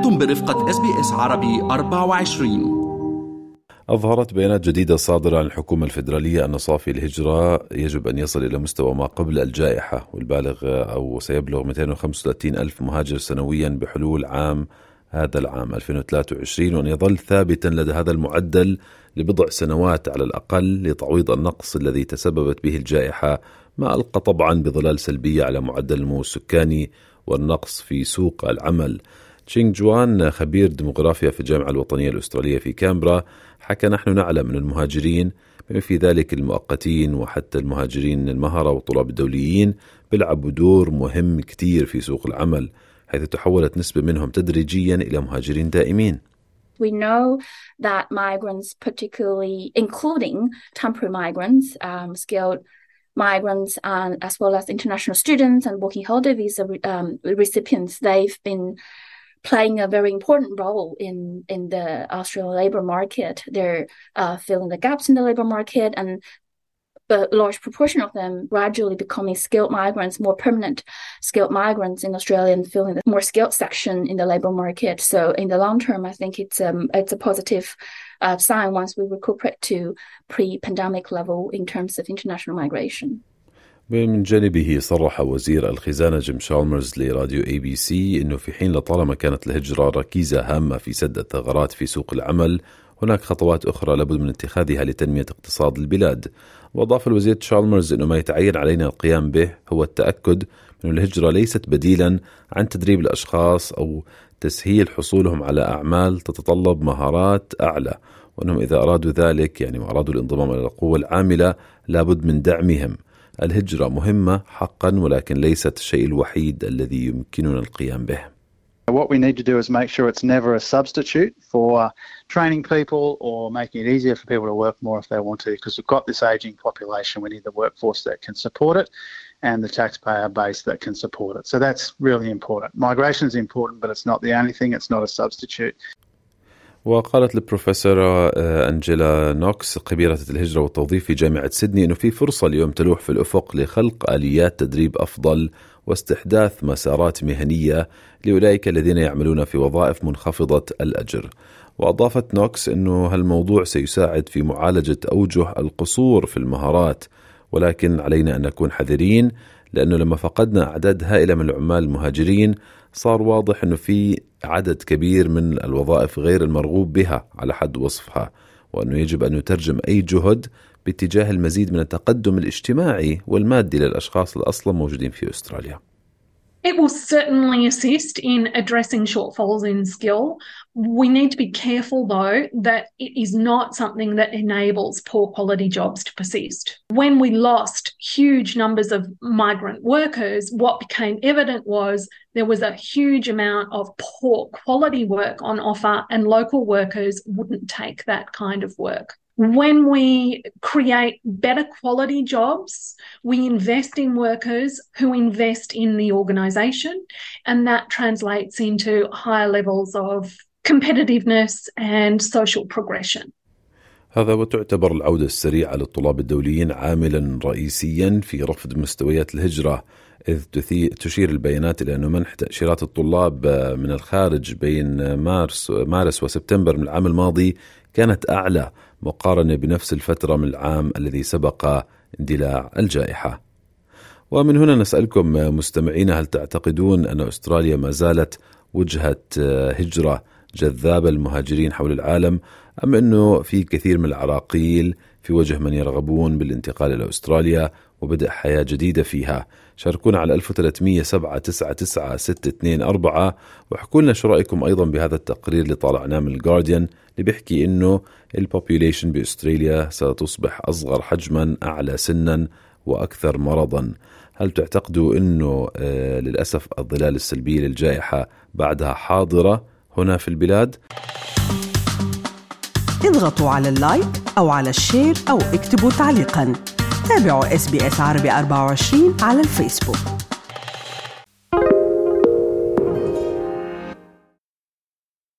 أنتم برفقة SBS عربي 24. أظهرت بيانات جديدة صادرة عن الحكومة الفيدرالية أن صافي الهجرة يجب أن يصل إلى مستوى ما قبل الجائحة، والبالغ أو سيبلغ 235 ألف مهاجر سنويا بحلول هذا العام 2023، وأن يظل ثابتا لدى هذا المعدل لبضع سنوات على الأقل لتعويض النقص الذي تسببت به الجائحة، ما ألقى طبعا بظلال سلبية على معدل النمو السكاني والنقص في سوق العمل. تشينغ جوان خبير ديموغرافيا في الجامعة الوطنية الأسترالية في كامبرا حكى: نحن نعلم أن المهاجرين بما في ذلك المؤقتين وحتى المهاجرين المهرة والطلاب الدوليين بيلعبوا دور مهم كتير في سوق العمل، حيث تحولت نسبة منهم تدريجيا إلى مهاجرين دائمين. We know that migrants, particularly including temporary migrants, skilled migrants, and as well as international students and working holiday visa recipients, they've been playing a very important role in the Australian labour market. They're filling the gaps in the labour market, and a large proportion of them gradually becoming skilled migrants, more permanent skilled migrants in Australia, and filling the more skilled section in the labour market. So in the long term, I think it's a positive sign once we recuperate to pre-pandemic level in terms of international migration. من جانبه صرح وزير الخزانة جيم شالمرز لراديو ABC أنه في حين لطالما كانت الهجرة ركيزة هامة في سد الثغرات في سوق العمل، هناك خطوات أخرى لابد من اتخاذها لتنمية اقتصاد البلاد. وأضاف الوزير شالمرز أنه ما يتعين علينا القيام به هو التأكد من الهجرة ليست بديلا عن تدريب الأشخاص أو تسهيل حصولهم على أعمال تتطلب مهارات أعلى، وأنهم إذا أرادوا ذلك وأرادوا الانضمام إلى القوة العاملة لابد من دعمهم. الهجرة مهمة حقا، ولكن ليست الشيء الوحيد الذي يمكننا القيام به. What we need to do is make sure it's never a substitute for training people or making it easier for people to work more if they want to, because we've got this ageing population. We need the workforce that can support it and the taxpayer base that can support it. So that's really important. Migration is important, but it's not the only thing. It's not a substitute. وقالت البروفيسورة أنجيلا نوكس خبيرة الهجرة والتوظيف في جامعة سيدني أنه في فرصة اليوم تلوح في الأفق لخلق آليات تدريب أفضل واستحداث مسارات مهنية لأولئك الذين يعملون في وظائف منخفضة الأجر. وأضافت نوكس أنه هالموضوع سيساعد في معالجة أوجه القصور في المهارات، ولكن علينا أن نكون حذرين، لأنه لما فقدنا أعداد هائلة من العمال المهاجرين صار واضح أنه في عدد كبير من الوظائف غير المرغوب بها على حد وصفها، وأنه يجب أن نترجم أي جهد باتجاه المزيد من التقدم الاجتماعي والمادي للأشخاص اللي أصلا موجودين في أستراليا. It will certainly assist in addressing shortfalls in skill. We need to be careful, though, that it is not something that enables poor quality jobs to persist. When we lost huge numbers of migrant workers, what became evident was there was a huge amount of poor quality work on offer, and local workers wouldn't take that kind of work. When we create better quality jobs, we invest in workers who invest in the organisation, and that translates into higher levels of competitiveness and social progression. هذا وتعتبر العودة السريعة للطلاب الدوليين عاملا رئيسيا في رفض مستويات الهجرة، إذ تشير البيانات إلى أن منح تأشيرات الطلاب من الخارج بين مارس وسبتمبر من العام الماضي كانت أعلى مقارنة بنفس الفترة من العام الذي سبق اندلاع الجائحة. ومن هنا نسألكم مستمعين: هل تعتقدون أن أستراليا ما زالت وجهة هجرة جذابة للمهاجرين حول العالم، أم أنه في كثير من العراقيل في وجه من يرغبون بالانتقال إلى أستراليا وبدء حياة جديدة فيها؟ شاركونا على 1300-799-624 وحكوا لنا شو رأيكم أيضا بهذا التقرير اللي طالعناه من الجارديان اللي بيحكي إنه البوبوليشن بأستراليا ستصبح أصغر حجما، أعلى سنا، وأكثر مرضا. هل تعتقدوا إنه للأسف الظلال السلبية للجائحة بعدها حاضرة هنا في البلاد؟ اضغطوا على اللايك أو على الشير أو اكتبوا تعليقا. تابعوا SBS عربي 24 على الفيسبوك.